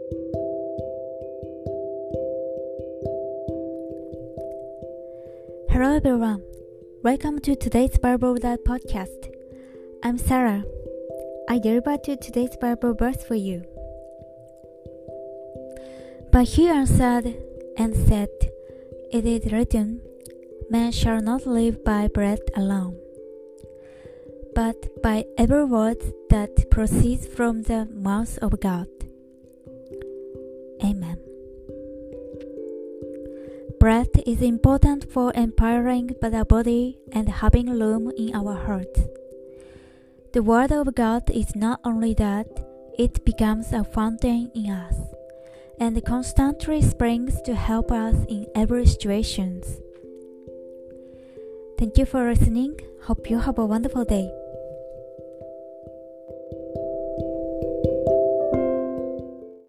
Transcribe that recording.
Hello everyone, welcome to today's Bible podcast. I'm Sarah. I delivered today's Bible verse for you. But he answered and said, It is written, Man shall not live by bread alone, but by every word that proceeds from the mouth of God. Amen. Bread is important for empowering the body and having room in our hearts. The Word of God is not only that, it becomes a fountain in us, and constantly springs to help us in every situation. Thank you for listening. Hope you have a wonderful day.